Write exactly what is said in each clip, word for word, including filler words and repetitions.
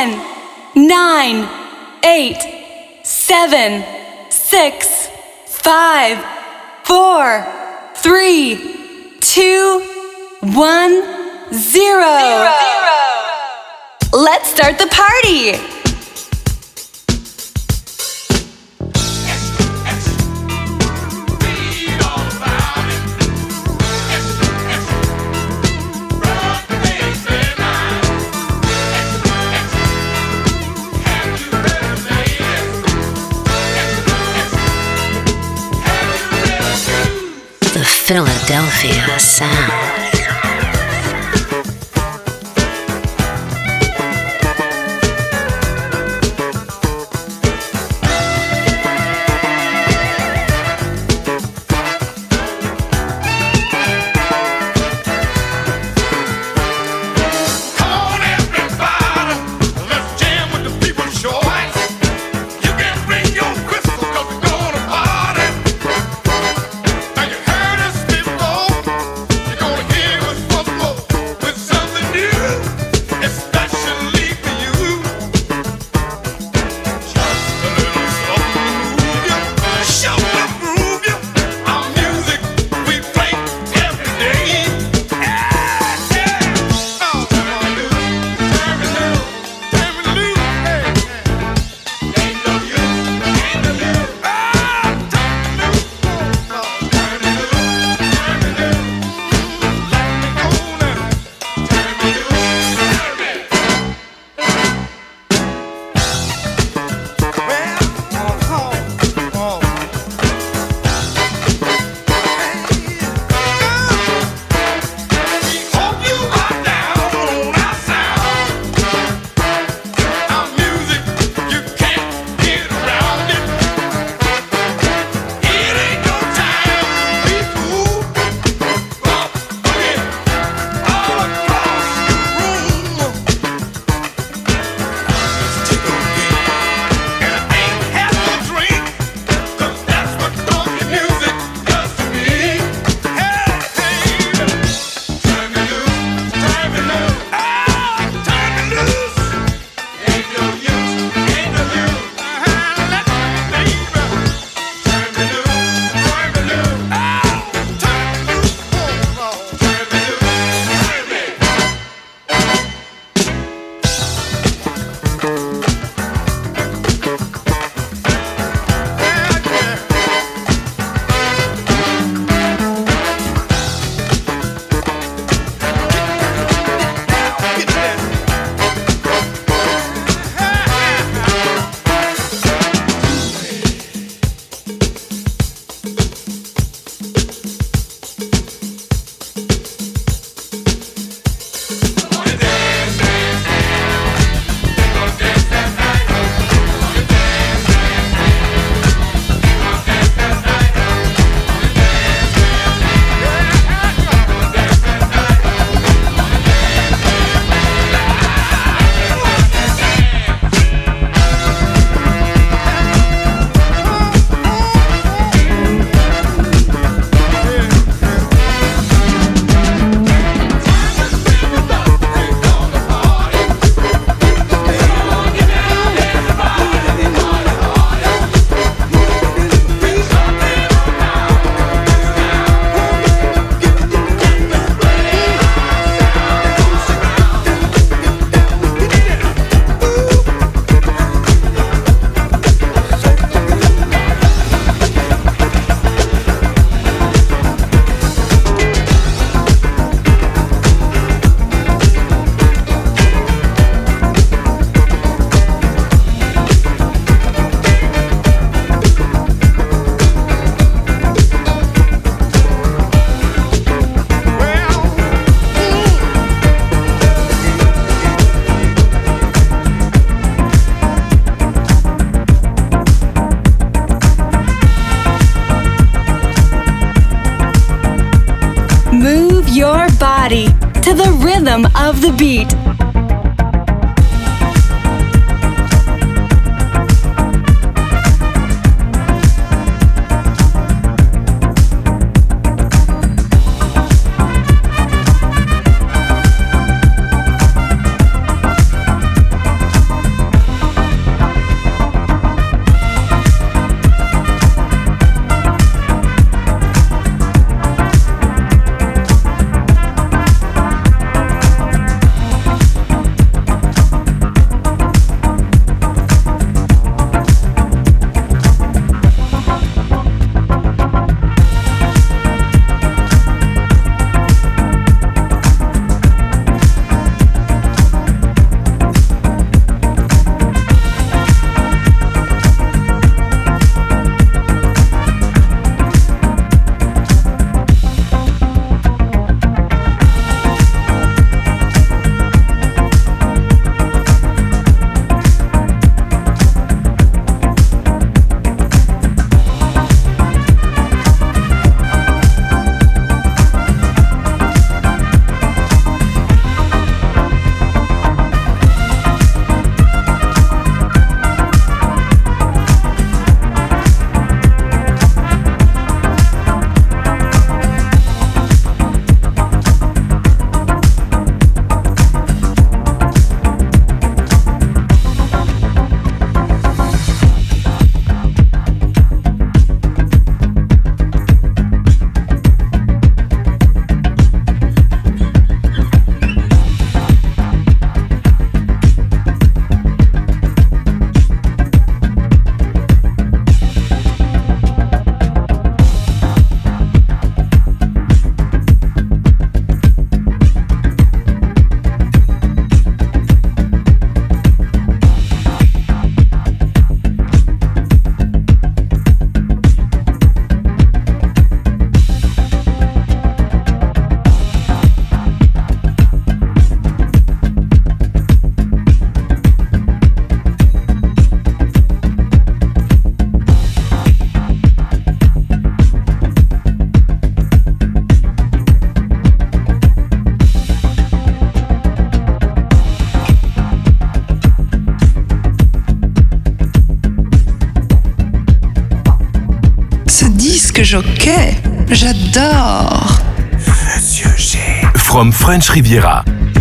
ten, nine, eight, seven, six, five, four, three, two, one, zero. Zero. Let's start the party. Philadelphia sound. body to the rhythm of the beat. Jockey, j'adore. Monsieur G. From French Riviera.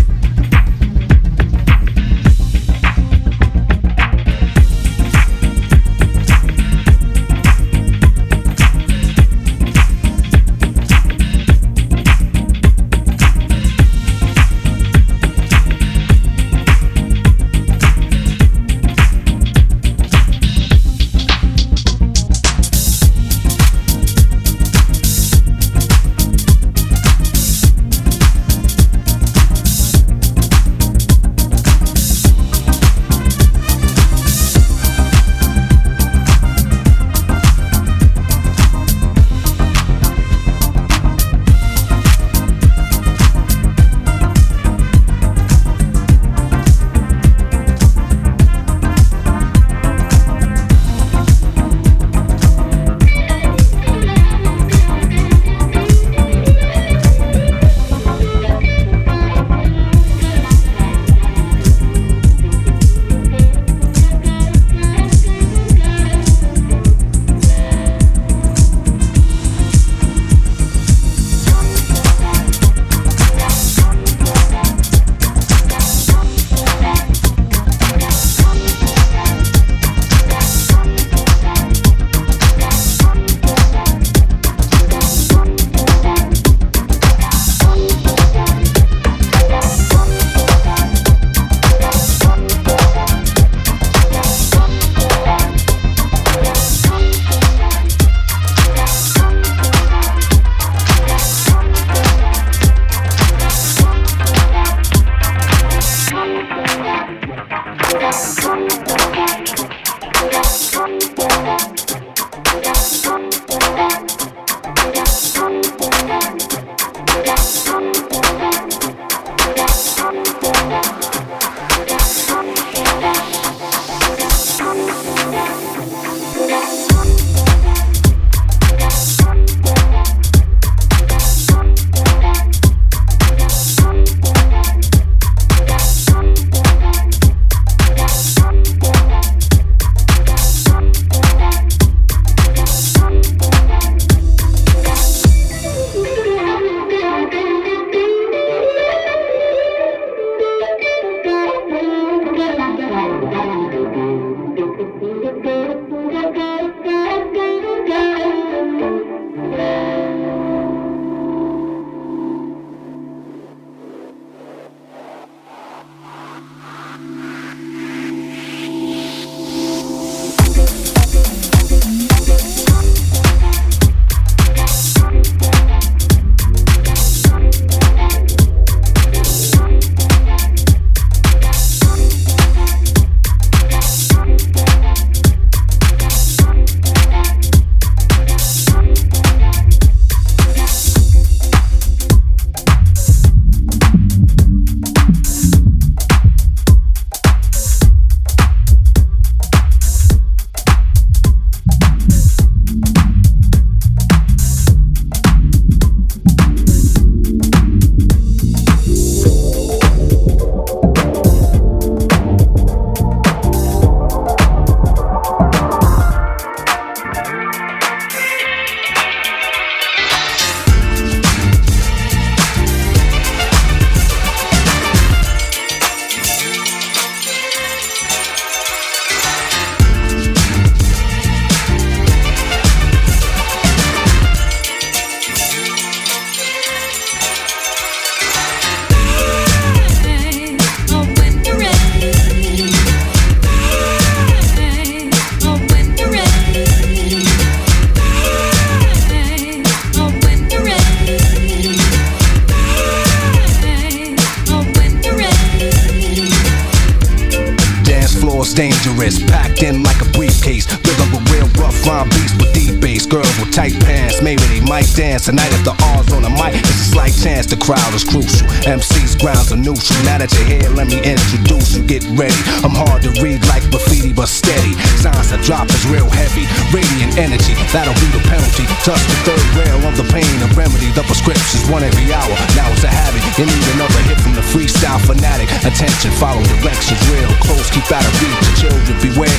dangerous, packed in like a briefcase. Rhythm with real rough rhyme beats with deep bass. Girls with tight pants, maybe they might dance. Tonight if the R's on the mic, it's a slight chance the crowd is crucial. M C's grounds are neutral. Now that you're here, let me introduce you. Get ready, I'm hard to read like graffiti, but steady. Signs I drop is real heavy. Radiant energy, that'll be the penalty. Touch the third rail of the pain, a remedy. The prescription's one every hour. Now it's a habit. You need another hit from the freestyle fanatic. Attention, follow directions real close. Keep out of reach. The children beware of old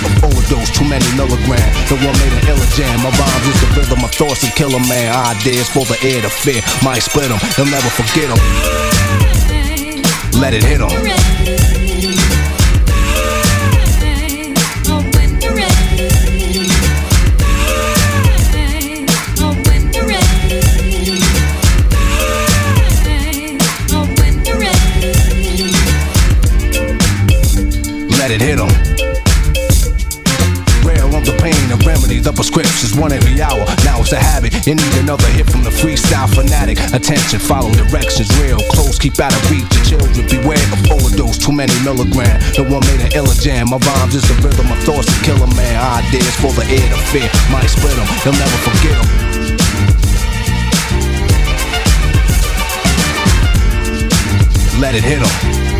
overdose, too many milligrams. The one made an illa jam. My rhymes is the rhythm of thoughts and killer man. Ideas for the air to fear. Might split them, they'll never forget them. Let it hit them. Let it hit them. Rare on the pain and remedy, the prescription's one every hour. Now it's a habit, you need another hit from the freestyle fanatic. Attention, follow directions, real close, keep out of reach. Your children beware of overdose, too many milligrams. The one made an illa jam. My rhymes is the rhythm of thoughts and killer man. Ideas for the air to fear. Might split them, they'll never forget them. Let it hit them.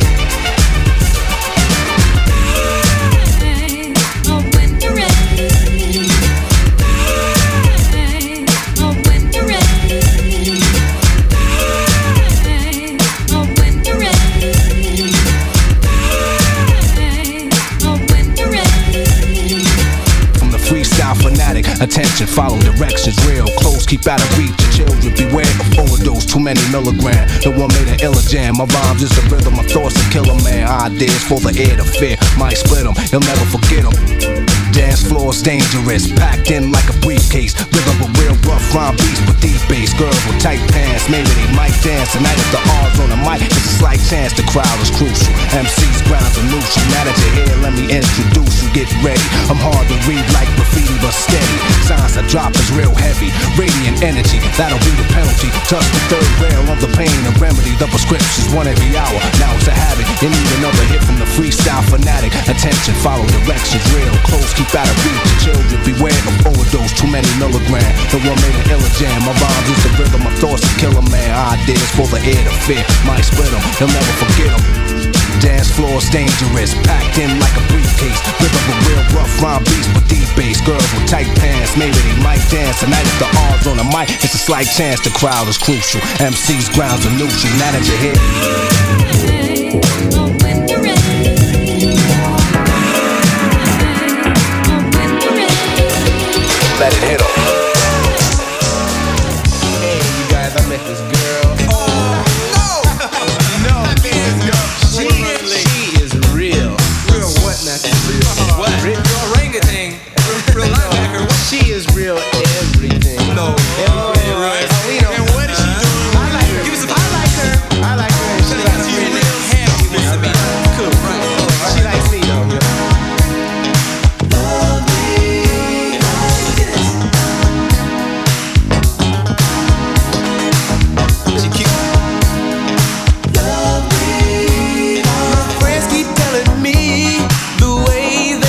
Attention, follow directions, real close, keep out of reach. Your children beware of overdose, too many milligrams. The one made an illa jam. My rhymes is the rhythm of thoughts and killer man. Ideas for the air to fear. Might split them, you'll never forget them. Dance floor's dangerous, packed in like a briefcase. Rhythm with real rough rhyme beats with deep bass. Girls with tight pants, maybe they might dance. Tonight if the R's on the mic, it's a slight chance the crowd is crucial. M C's grounds are neutral. Now that you're here, let me introduce you. Get ready, I'm hard to read like graffiti but steady. Signs I drop is real heavy, radiant energy, that'll be the penalty. Touch the third rail of the pain and remedy. The prescription's one every hour, now it's a habit. You need another hit from the freestyle fanatic. Attention, follow directions, real close, keep out of reach. Your children beware of overdose, too many milligrams. The one made an illa jam. My rhymes is the rhythm of thoughts and killer man. Ideas for the air to fear. Might split them, they'll never forget them. Dance floor's dangerous, packed in like a briefcase. Rhythm with real rough rhyme beats with deep bass. Girls with tight pants, maybe they might dance. Tonight if the R's on the mic, it's a slight chance the crowd is crucial. M C's grounds are neutral, now that you're here. Let it hit 'em. Hey, you guys, I met this girl. Oh, no! No, she, she is real. Real what now? Real what? Real orangutan. Real linebacker. She is real everything. No. Everything. Right. Oh, you know. And what is she doing? I like her. Give us a I like her. I like her. She likes me. Real happy. I mean, cool. Right. She likes me though. My friends keep telling me the way that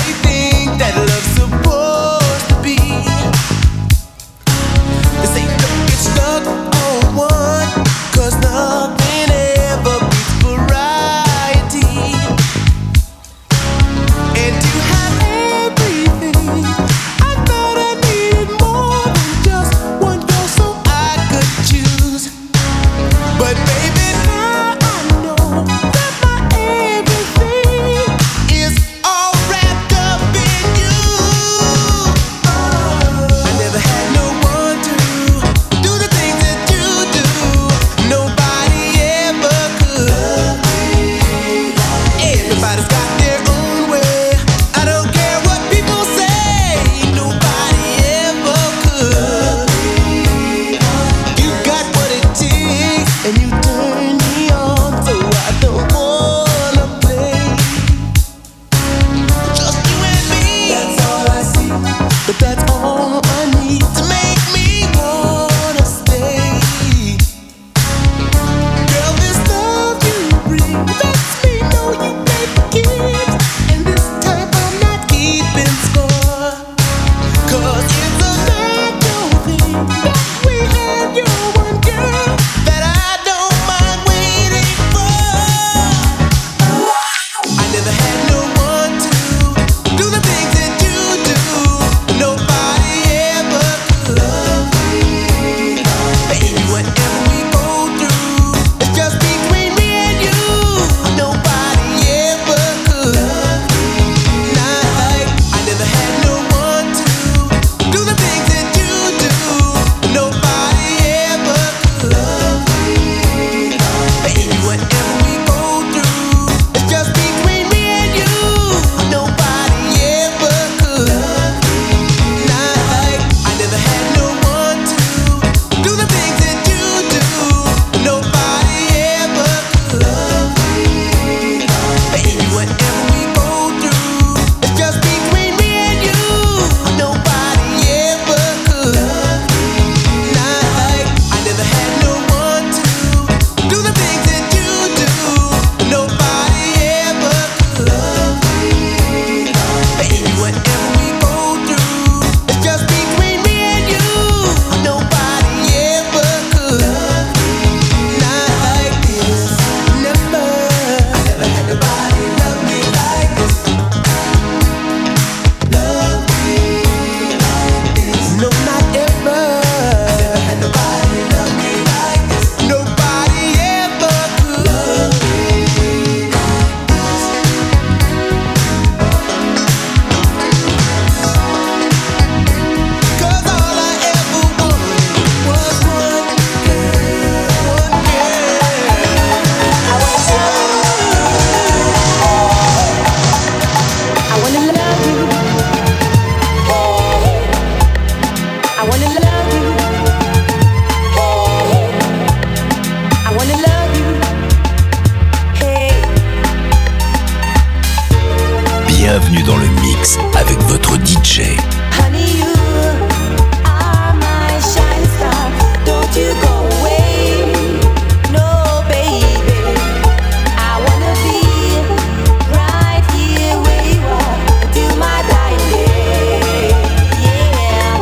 bienvenue dans le mix avec votre D J. Honey, you are my shining star. Don't you go away, no baby. I wanna be right here where you are till my dying day. Yeah,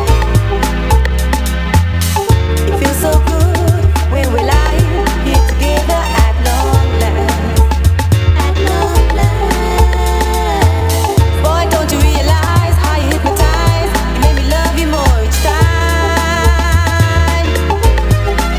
it feels so good when we lie here together at long last. At long last, boy, don't you realize how you hypnotize? You made me love you more each time.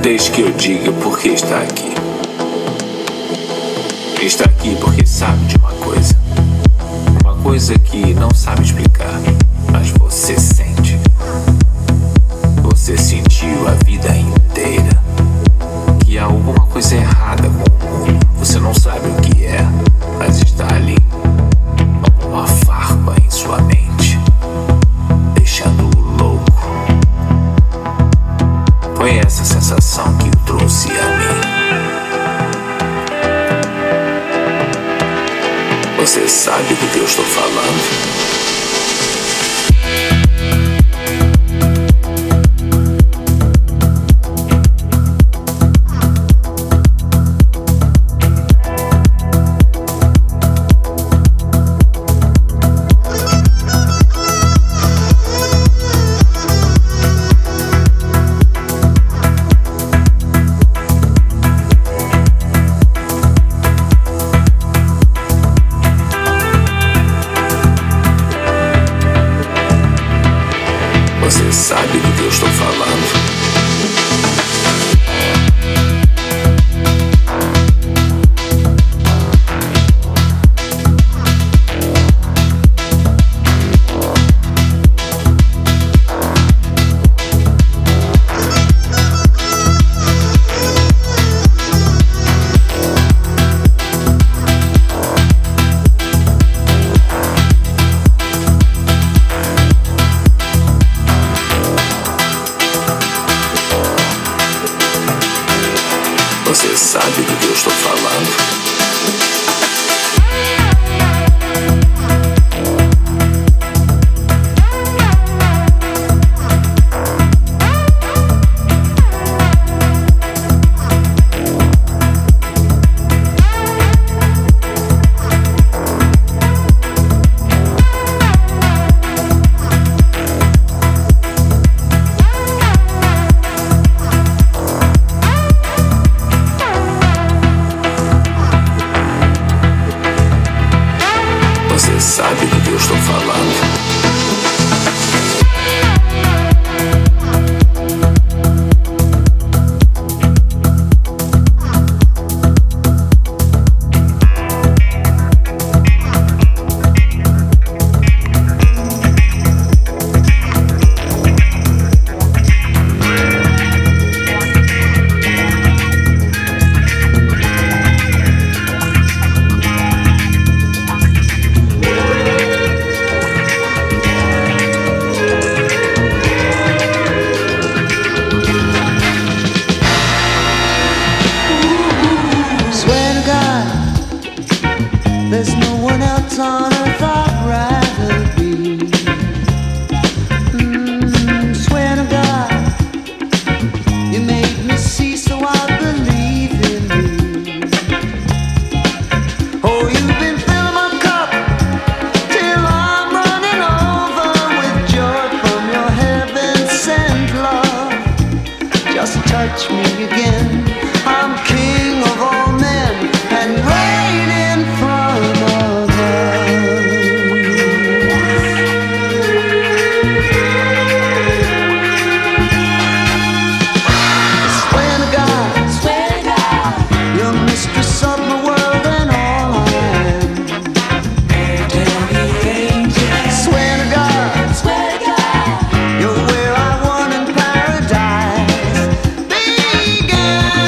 Deixe que eu diga por que está aqui. Está aqui porque sabe de uma coisa. Uma coisa que não sabe explicar, mas você sente. Você sentiu a vida inteira que há alguma coisa errada com o mundo. Você não sabe o que é, mas está ali. Uma farpa em sua mente, deixando-o louco. Foi essa sensação que o trouxe a mim. Você sabe do que eu estou falando? Você sabe do que eu estou falando? Você sabe do que eu estou falando? Você sabe do que eu estou falando? There's no one else on earth I'd rather be. Mm, swear to God, you made me see, so I believe in you. Oh, you've been filling my cup till I'm running over with joy from your heaven-sent love. Just touch me again. I'm king of all men and reign in front of us. Swear to God, swear to God, you're mistress of my world and all I am. Swear to God, swear to God, you're where I want in paradise began.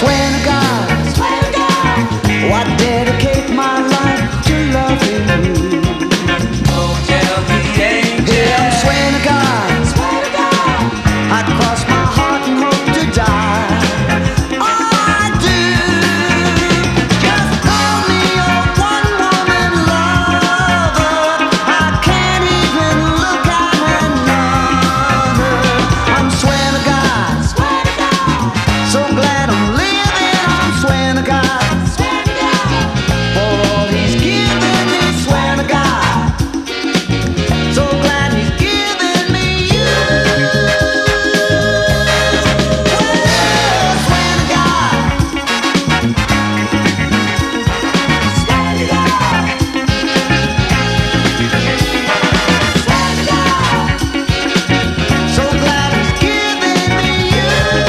swear to God, oh, I dedicate my life to loving you. Oh, tell the angel. Yeah, I'm swearing to God, I'd cross my heart and hope to die. I do. Just call me your one-woman lover. I can't even look at another. I'm swearing to God, so glad I'm living. I'm swearing to God, for all He's given me. Swearing to God, so glad He's given me you. Well, swear to God, swear to God, swear to God, so glad He's given me you.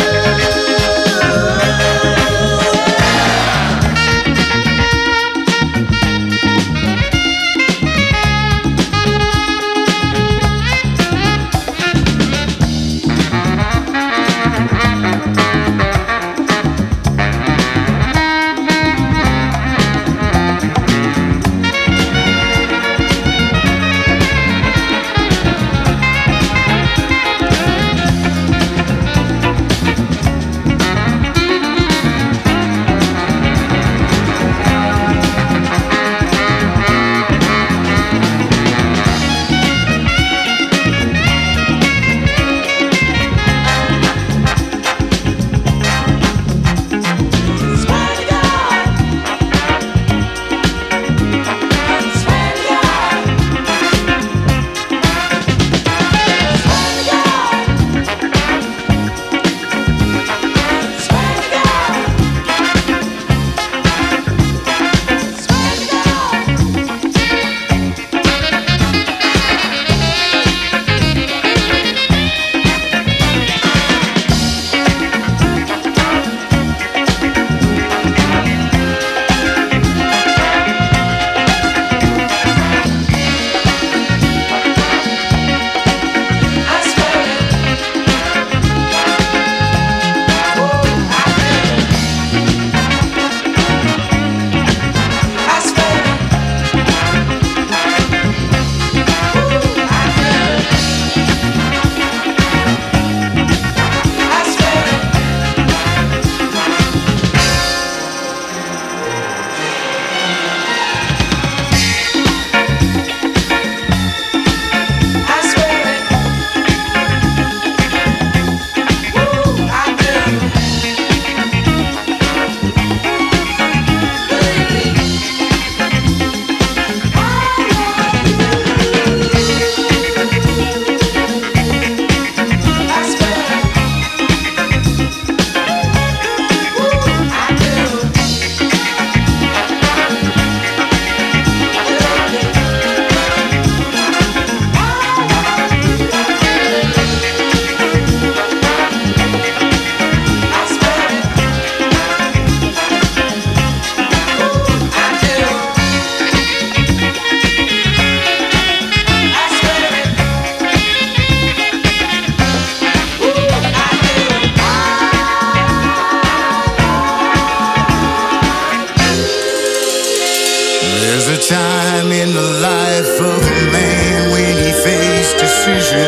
There's a time in the life of a man when he faced decision,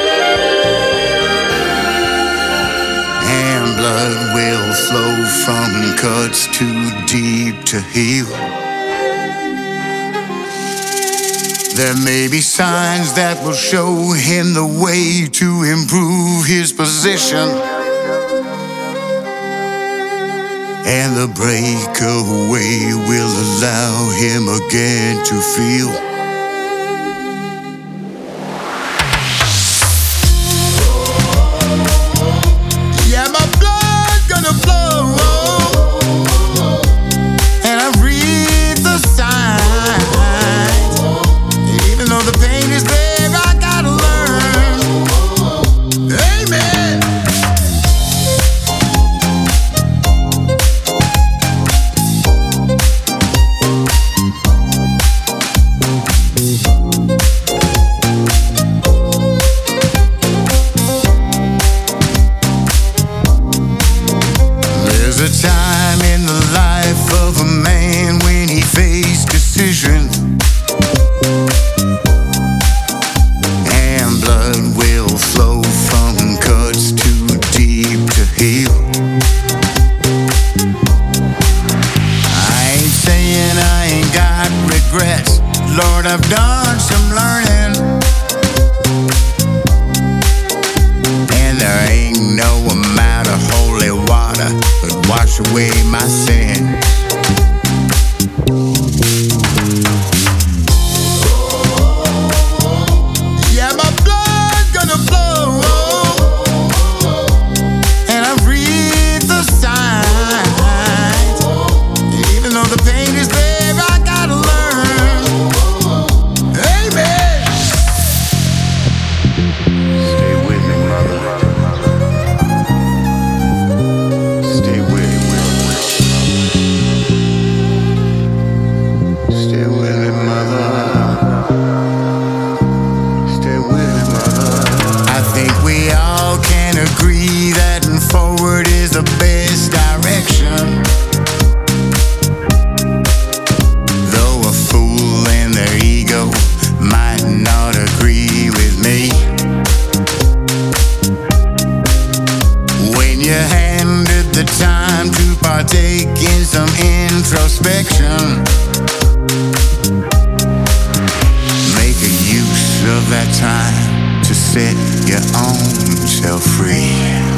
and blood will flow from cuts too deep to heal. There may be signs that will show him the way to improve his position, and the breakaway will allow him again to feel. Yeah, my blood's gonna flow, and I read the signs. Even though the pain is there, I gotta learn. Amen. time in the life of a man when he faced decision. And blood will flow from cuts too deep to heal. I ain't saying I ain't got regrets. Lord, I've done some learning. And there ain't no amount of holy water could wash away my sins. Yeah, my blood's gonna flow. And I've read the signs. Even though the pain is there, I gotta learn. Amen. Stay with me, mother. Stay with me. Stay with me, mother. Stay with me, mother. I think we all can agree that forward is the best direction. Though a fool and their ego might not agree with me. When you're handed the time to partake in some introspection, make a use of that time to set your own self free.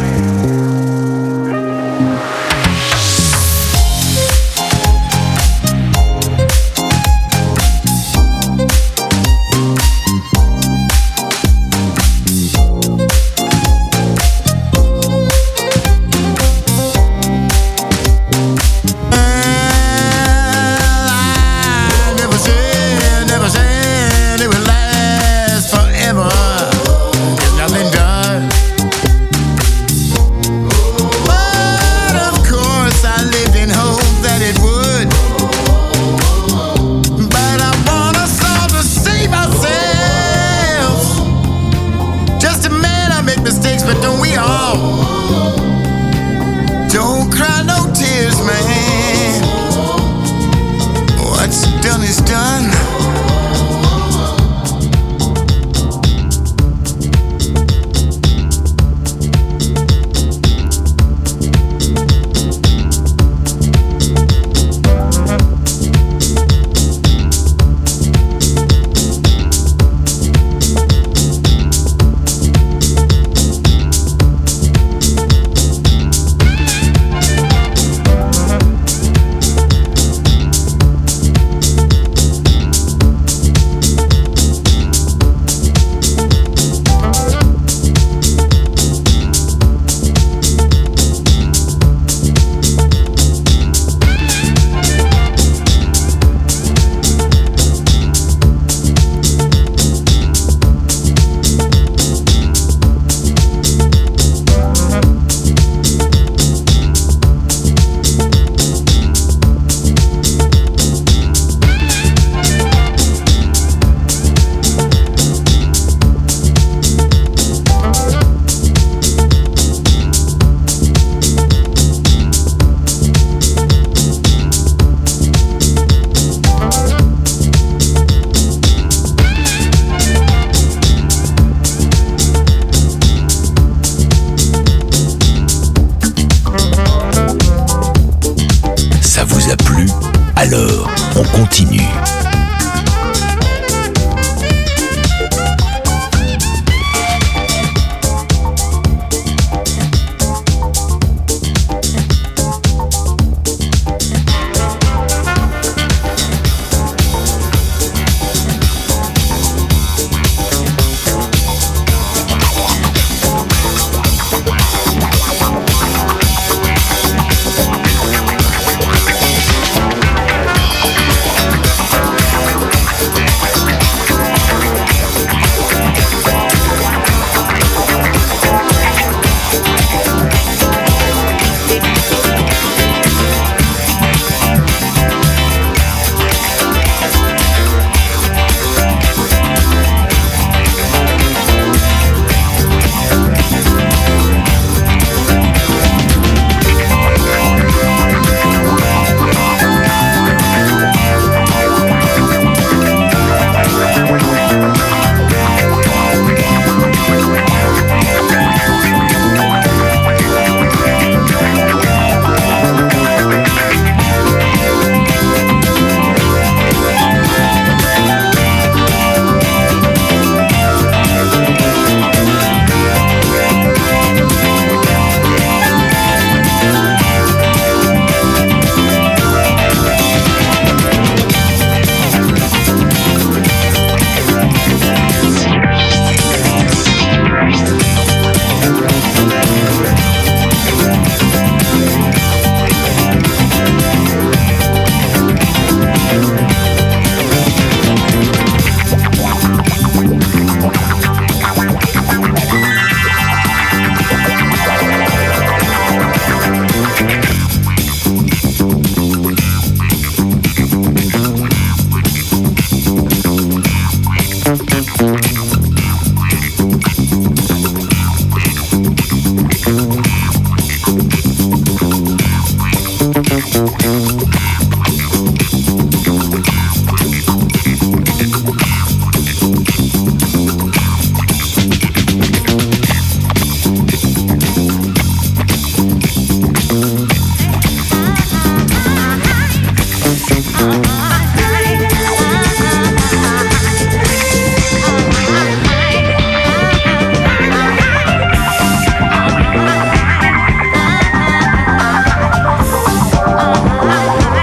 Alors, on continue. We'll be right back. I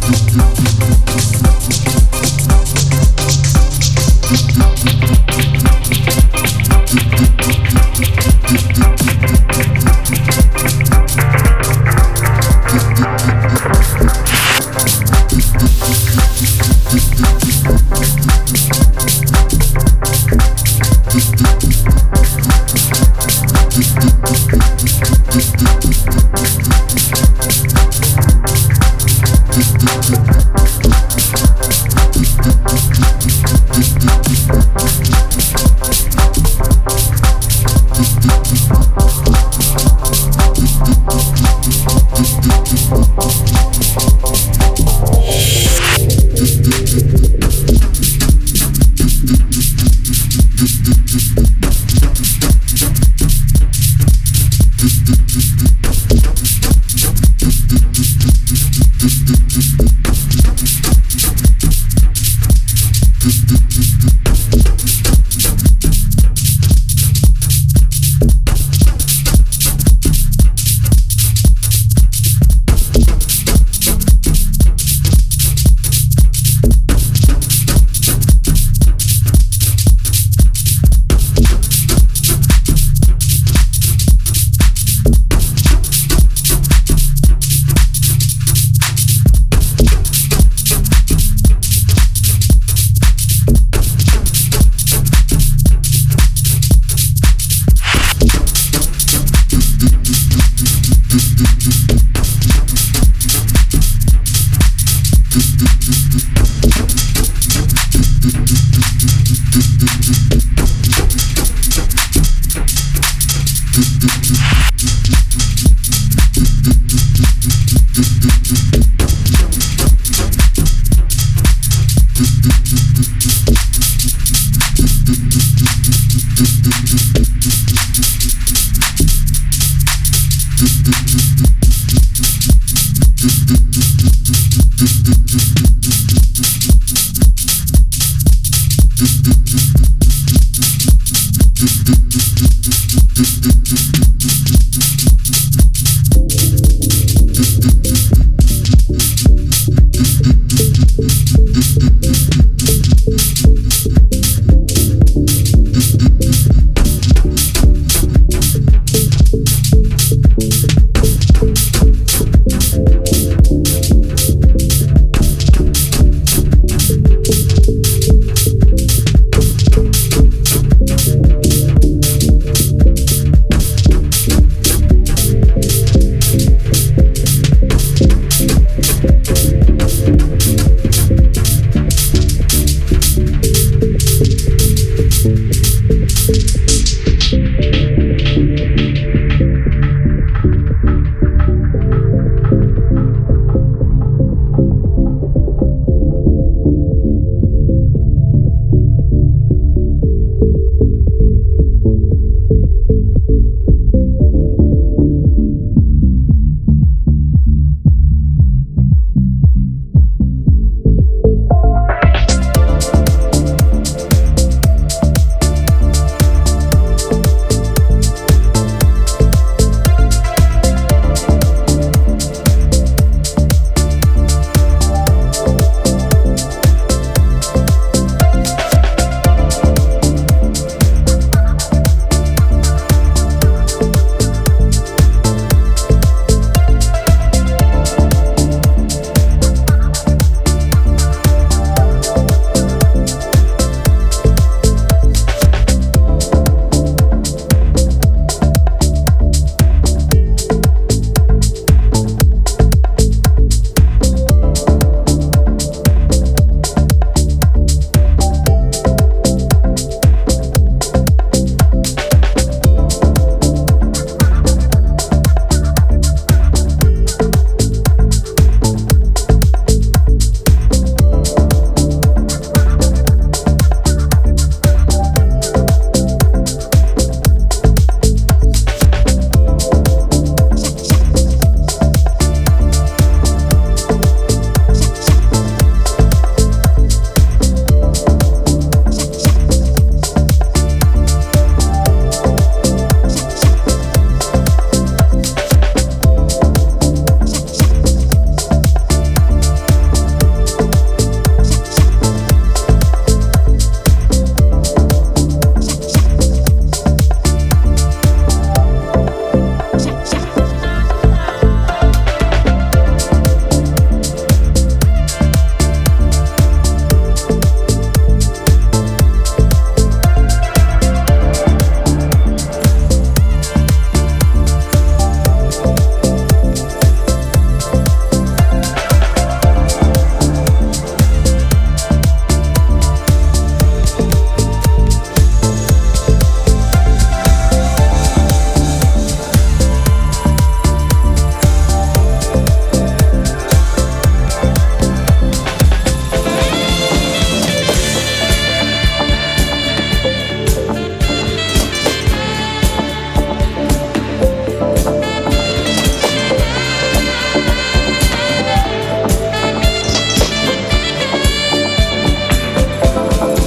Thank you.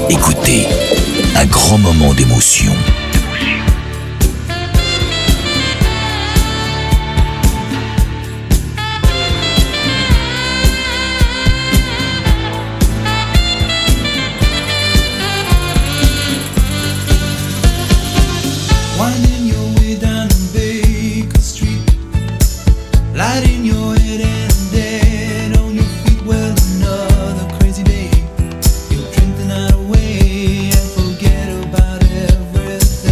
Écoutez, un grand moment d'émotion. Winding your way down Baker Street, lighting your head and dead on your feet. Well, another crazy day. You'll drink the night away and forget about everything.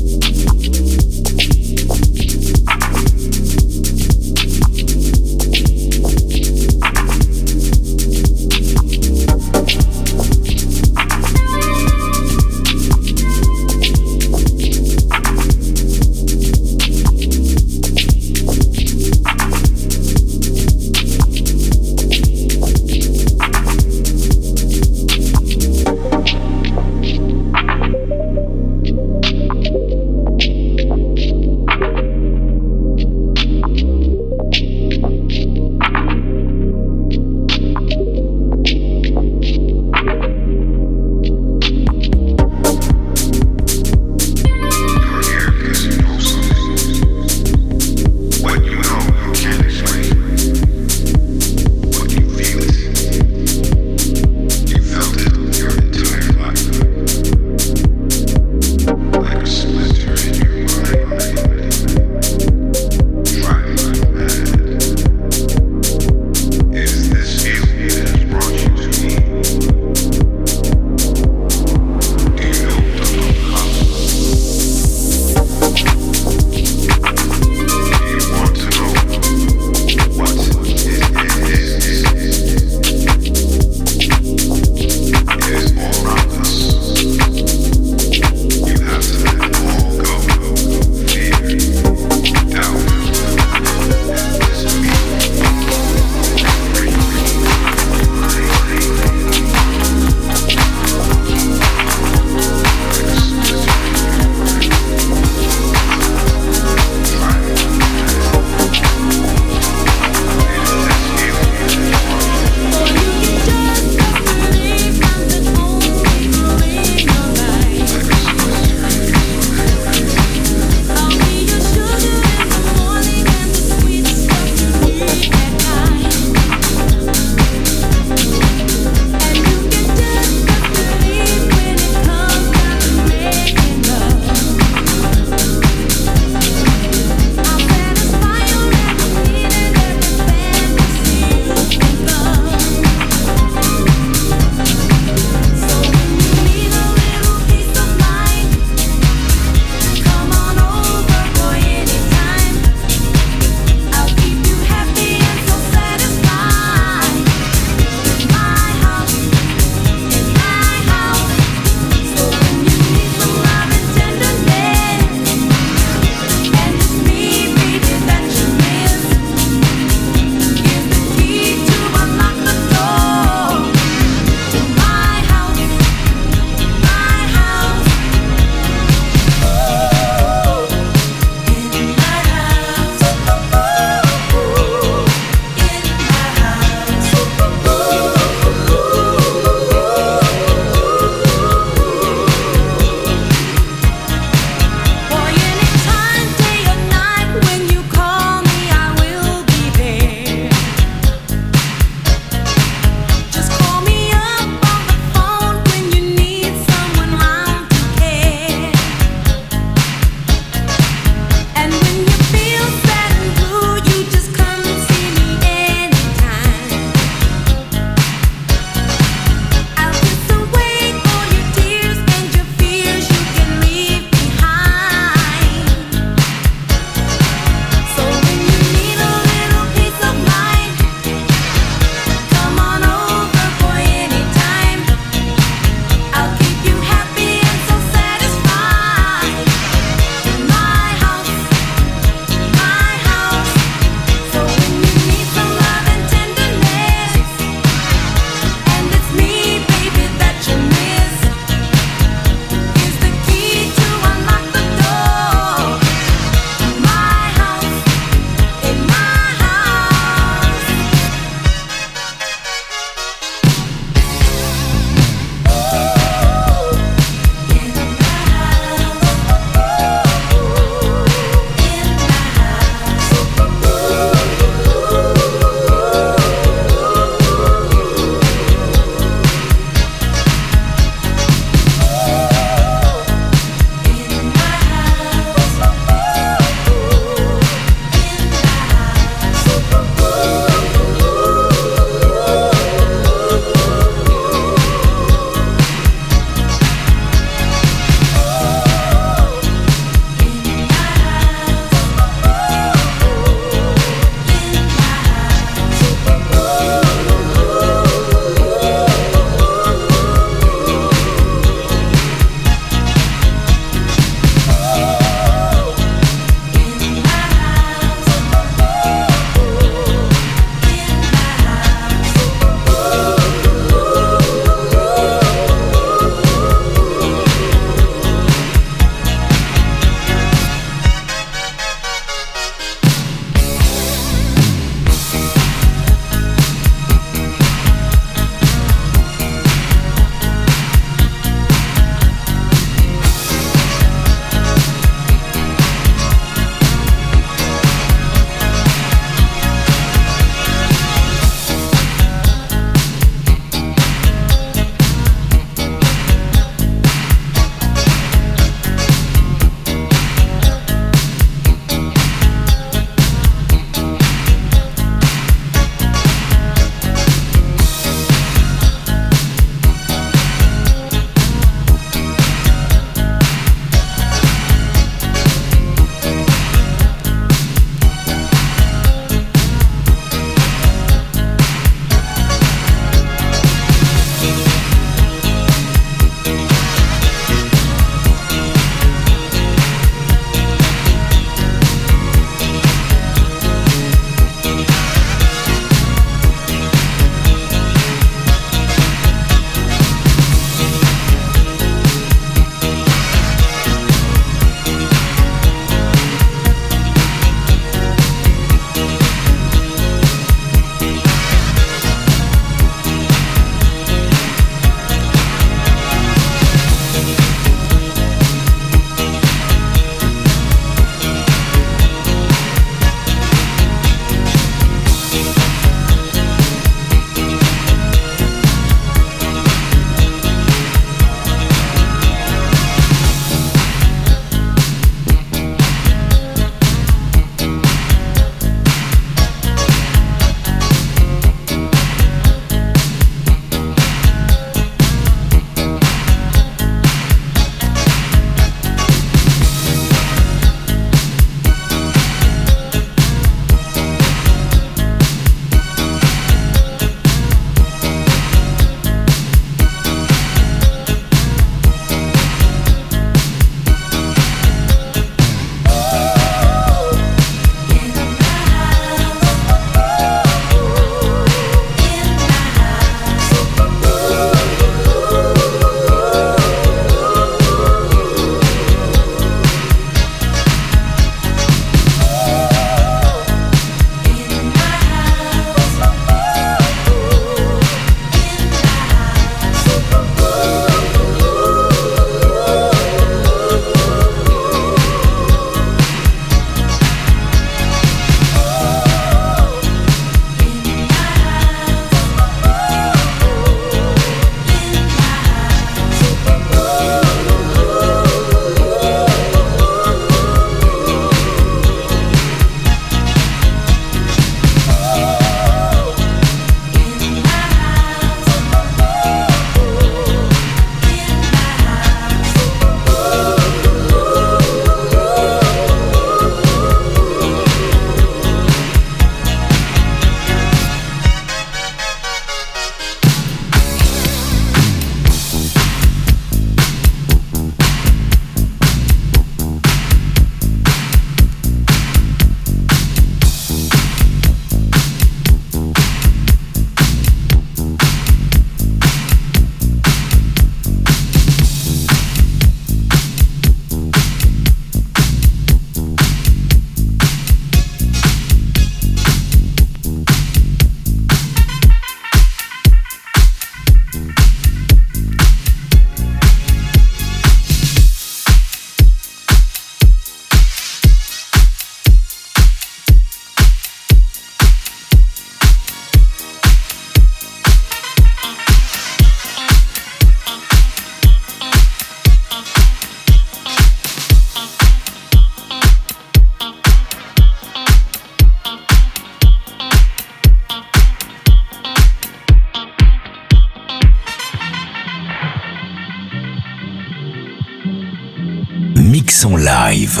mix en live.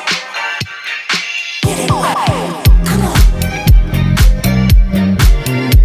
Get it right. Come on.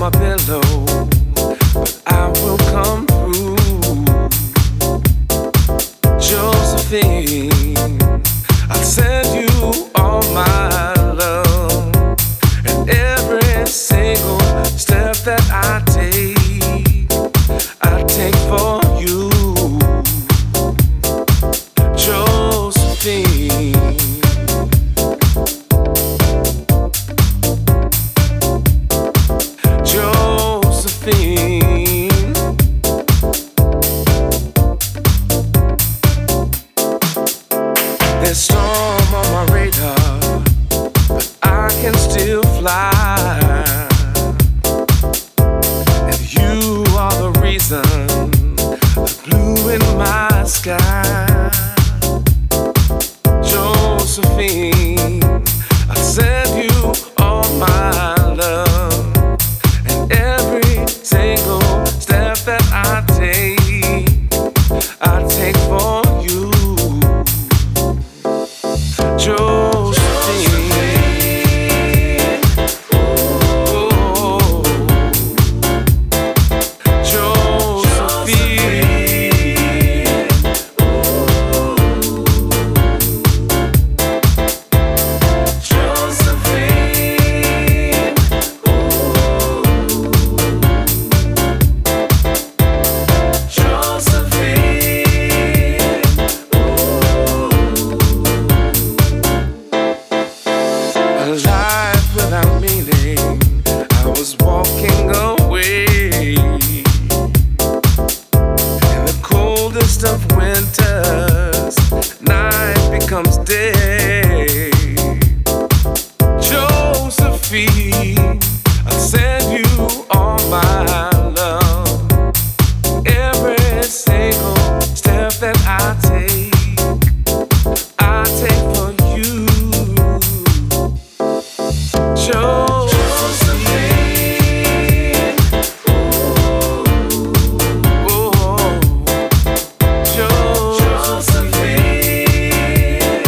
my pillow, but I will come through. Josephine, I'll send you all my love, and every single step that I take, I take for you. Josephine, Josephine, there's storm on my radar, but I can still fly. And you are the reason, the blue in my sky. Josephine, I send you all my love, and every single step that I take, I take for you. Josephine, oh, Josephine, a life without meaning, I was walking away. In the coldest of winters, night becomes day. Josephine, I'll send you all my love. Every single step that I take, I take for you. Josephine, oh, Josephine,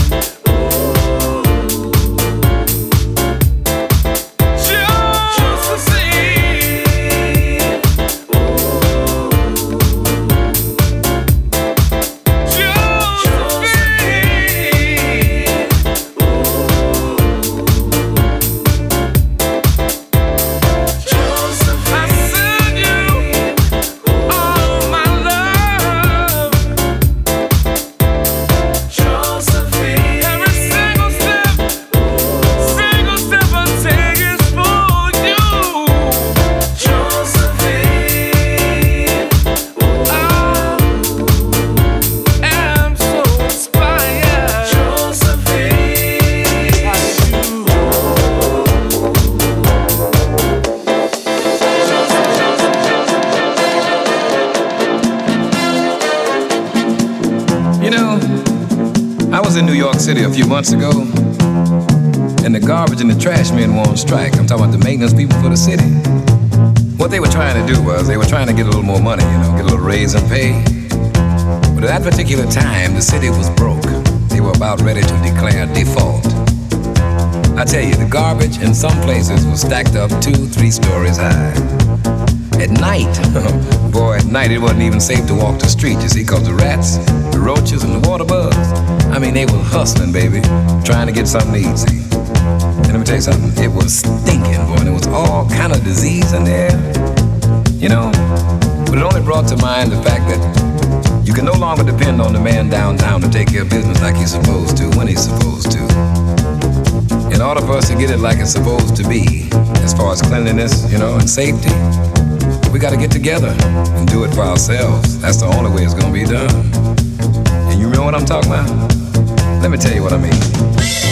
was in New York City a few months ago, and the garbage and the trash men were on strike. I'm talking about the maintenance people for the city. What they were trying to do was they were trying to get a little more money, you know, get a little raise in pay. But at that particular time, the city was broke. They were about ready to declare default. I tell you, the garbage in some places was stacked up two, three stories high. At night, boy, at night it wasn't even safe to walk the street, you see, because the rats, the roaches, and the water bugs, I mean, they were hustling, baby, trying to get something to eat, see. And let me tell you something, it was stinking, boy, and there was all kind of disease in there, you know. But it only brought to mind the fact that you can no longer depend on the man downtown to take care of business like he's supposed to, when he's supposed to. In order for us to get it like it's supposed to be, as far as cleanliness, you know, and safety, we got to get together and do it for ourselves. That's the only way it's going to be done. And you remember what I'm talking about? Let me tell you what I mean.